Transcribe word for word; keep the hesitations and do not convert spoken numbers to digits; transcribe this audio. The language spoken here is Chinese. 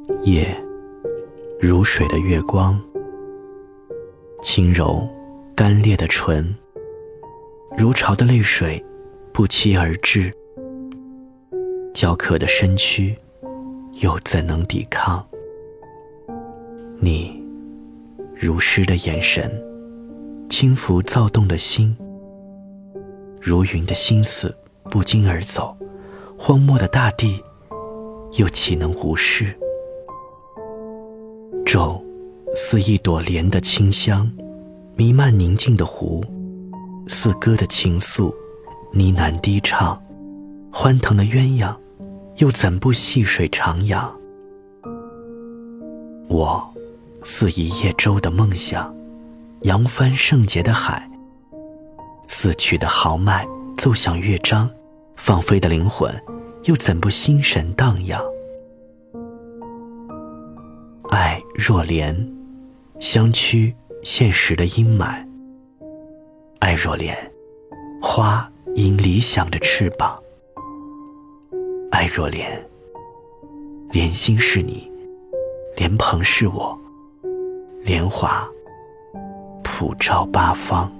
夜如水的月光，轻柔干裂的唇，如潮的泪水不期而至，焦渴的身躯又怎能抵抗？你如诗的眼神，轻抚躁动的心，如云的心思不胫而走，荒漠的大地又岂能无视？骤似一朵莲的清香，弥漫宁静的湖，似歌的情愫呢喃低唱，欢腾的鸳鸯又怎不细水长养？我似一叶舟的梦想，扬帆圣洁的海，似曲的豪迈奏响乐章，放飞的灵魂又怎不心神荡漾？爱若莲，相驱现实的阴霾；爱若莲，花因理想的翅膀；爱若莲，莲心是你，莲蓬是我，莲华普照八方。